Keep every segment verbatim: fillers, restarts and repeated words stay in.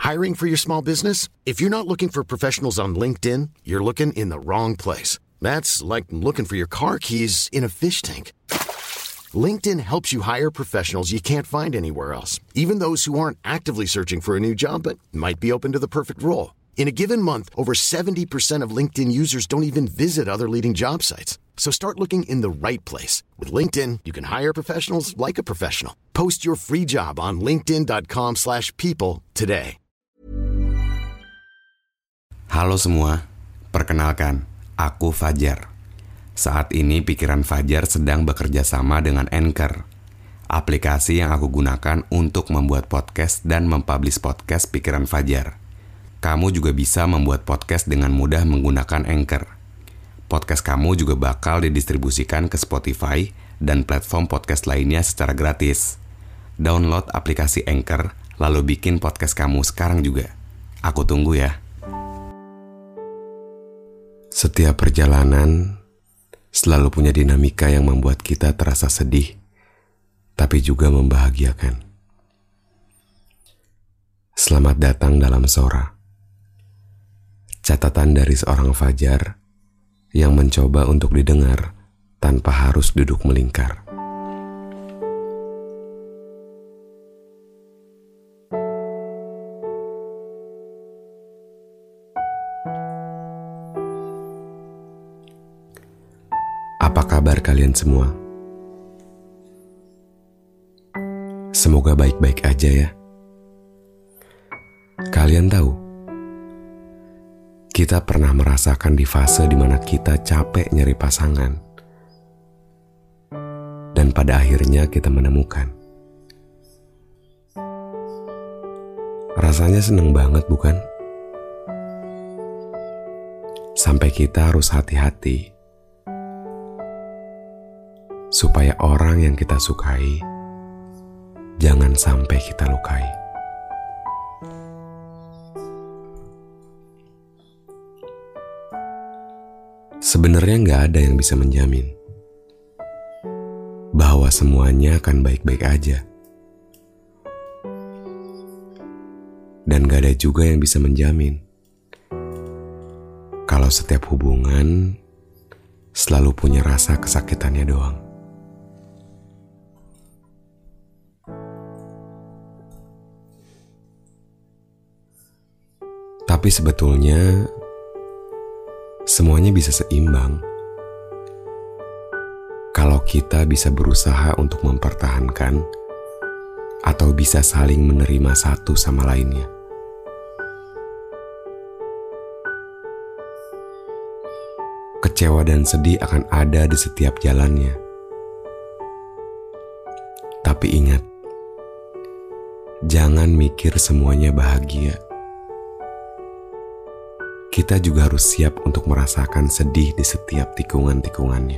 Hiring for your small business? If you're not looking for professionals on LinkedIn, you're looking in the wrong place. That's like looking for your car keys in a fish tank. LinkedIn helps you hire professionals you can't find anywhere else, even those who aren't actively searching for a new job but might be open to the perfect role. In a given month, over seventy percent of LinkedIn users don't even visit other leading job sites. So start looking in the right place. With LinkedIn, you can hire professionals like a professional. Post your free job on linkedin.com slash people today. Halo semua, perkenalkan, aku Fajar. Saat ini pikiran Fajar sedang bekerja sama dengan Anchor, aplikasi yang aku gunakan untuk membuat podcast dan mempublish podcast pikiran Fajar. Kamu juga bisa membuat podcast dengan mudah menggunakan Anchor. Podcast kamu juga bakal didistribusikan ke Spotify dan platform podcast lainnya secara gratis. Download aplikasi Anchor, lalu bikin podcast kamu sekarang juga. Aku tunggu ya. Setiap perjalanan selalu punya dinamika yang membuat kita terasa sedih, tapi juga membahagiakan. Selamat datang dalam Sora. Catatan dari seorang Fajar yang mencoba untuk didengar tanpa harus duduk melingkar. Apa kabar kalian semua? Semoga baik-baik aja ya. Kalian tahu, kita pernah merasakan di fase di mana kita capek nyari pasangan. Dan pada akhirnya kita menemukan. Rasanya seneng banget bukan? Sampai kita harus hati-hati supaya orang yang kita sukai jangan sampai kita lukai. Sebenarnya gak ada yang bisa menjamin bahwa semuanya akan baik-baik aja. Dan gak ada juga yang bisa menjamin kalau setiap hubungan selalu punya rasa kesakitannya doang. Tapi sebetulnya semuanya bisa seimbang kalau kita bisa berusaha untuk mempertahankan atau bisa saling menerima satu sama lainnya. Kecewa dan sedih akan ada di setiap jalannya. Tapi ingat, jangan mikir semuanya bahagia. Kita juga harus siap untuk merasakan sedih di setiap tikungan-tikungannya.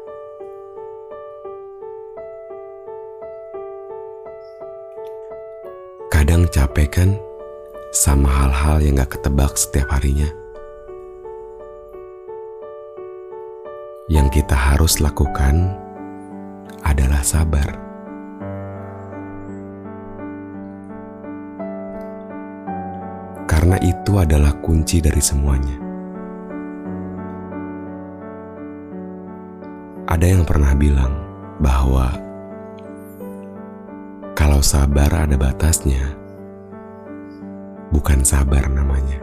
Kadang capek kan sama hal-hal yang gak ketebak setiap harinya. Yang kita harus lakukan adalah sabar. Karena itu adalah kunci dari semuanya. Ada yang pernah bilang bahwa kalau sabar ada batasnya, bukan sabar namanya.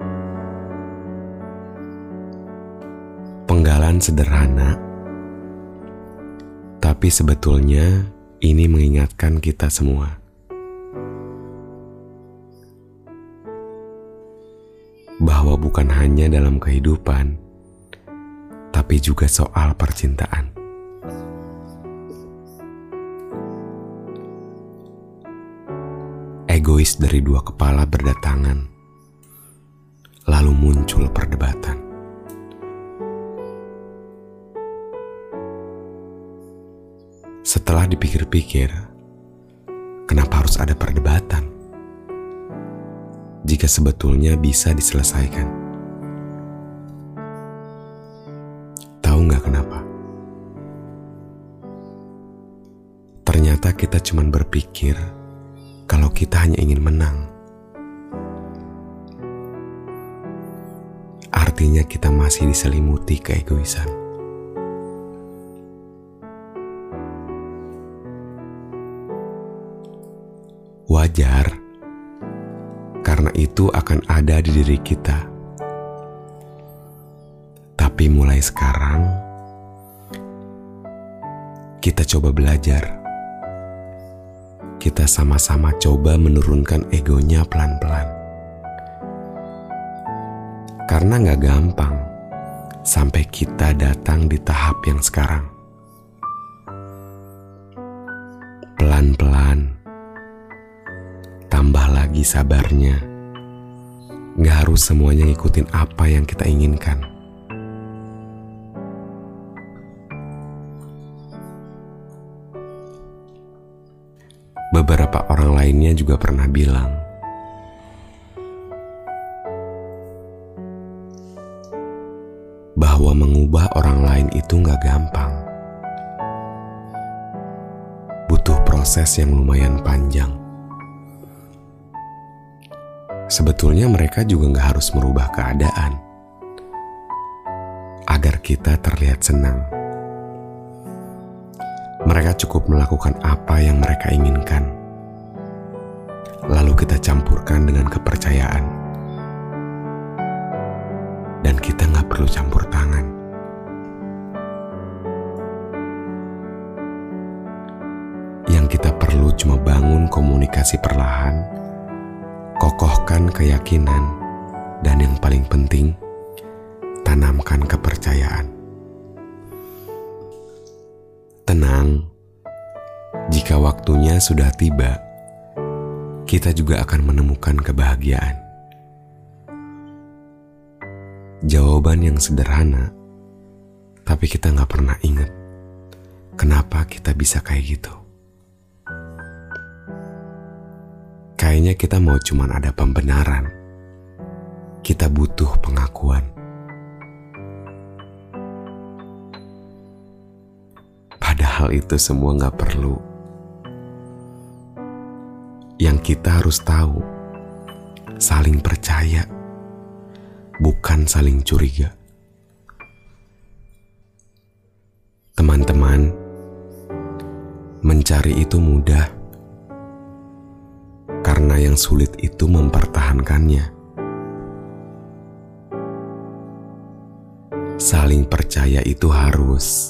Penggalan sederhana, tapi sebetulnya ini mengingatkan kita semua bahwa bukan hanya dalam kehidupan, tapi juga soal percintaan. Egois dari dua kepala berdatangan, lalu muncul perdebatan. Setelah dipikir-pikir, kenapa harus ada perdebatan jika sebetulnya bisa diselesaikan? Tahu nggak kenapa? Ternyata kita cuma berpikir kalau kita hanya ingin menang. sepertinya kita masih diselimuti keegoisan. Wajar, karena itu akan ada di diri kita. Tapi mulai sekarang, kita coba belajar. Kita sama-sama coba menurunkan egonya pelan-pelan. Karena gak gampang sampai kita datang di tahap yang sekarang. Pelan-pelan, tambah lagi sabarnya. Gak harus semuanya ngikutin apa yang kita inginkan. Beberapa orang lainnya juga pernah bilang, bahwa mengubah orang lain itu gak gampang. Butuh proses yang lumayan panjang. Sebetulnya mereka juga gak harus merubah keadaan agar kita terlihat senang. Mereka cukup melakukan apa yang mereka inginkan, lalu kita campurkan dengan kepercayaan. Dan kita gak perlu campur tangan. Yang kita perlu cuma bangun komunikasi perlahan, kokohkan keyakinan, dan yang paling penting, tanamkan kepercayaan. Tenang, jika waktunya sudah tiba, kita juga akan menemukan kebahagiaan. Jawaban yang sederhana, tapi kita gak pernah ingat kenapa kita bisa kayak gitu. Kayaknya kita mau cuman ada pembenaran. Kita butuh pengakuan. Padahal itu semua gak perlu. Yang kita harus tahu, saling percaya, bukan saling curiga. Teman-teman, mencari itu mudah, karena yang sulit itu mempertahankannya. Saling percaya itu harus.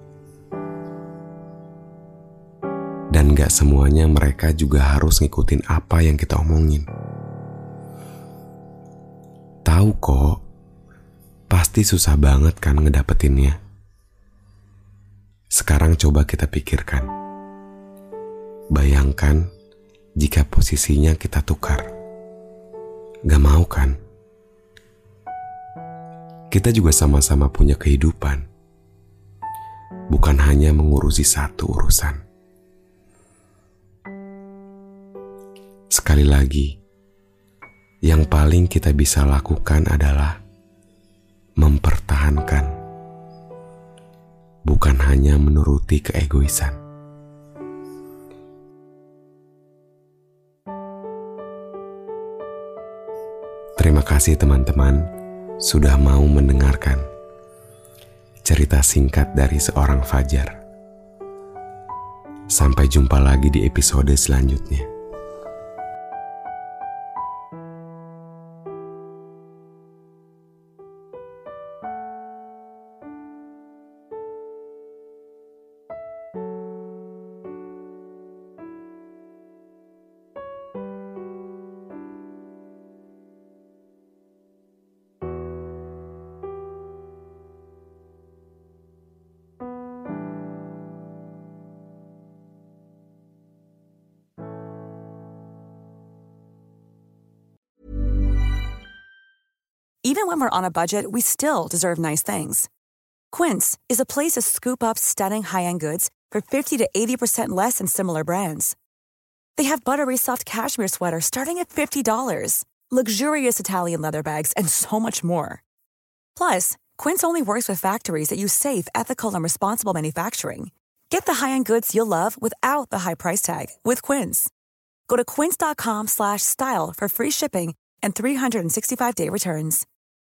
Dan gak semuanya mereka juga harus ngikutin apa yang kita omongin. Tahu kok, pasti susah banget kan ngedapetinnya. Sekarang coba kita pikirkan. Bayangkan jika posisinya kita tukar. Gak mau kan? Kita juga sama-sama punya kehidupan. Bukan hanya mengurusi satu urusan. Sekali lagi, yang paling kita bisa lakukan adalah mempertahankan, bukan hanya menuruti keegoisan. Terima kasih teman-teman sudah mau mendengarkan cerita singkat dari seorang Fajar. Sampai jumpa lagi di episode selanjutnya. Even when we're on a budget, we still deserve nice things. Quince is a place to scoop up stunning high-end goods for fifty to eighty percent less than similar brands. They have buttery soft cashmere sweaters starting at fifty dollars, luxurious Italian leather bags, and so much more. Plus, Quince only works with factories that use safe, ethical, and responsible manufacturing. Get the high-end goods you'll love without the high price tag with Quince. Go to quince.com slash style for free shipping and three sixty-five day returns.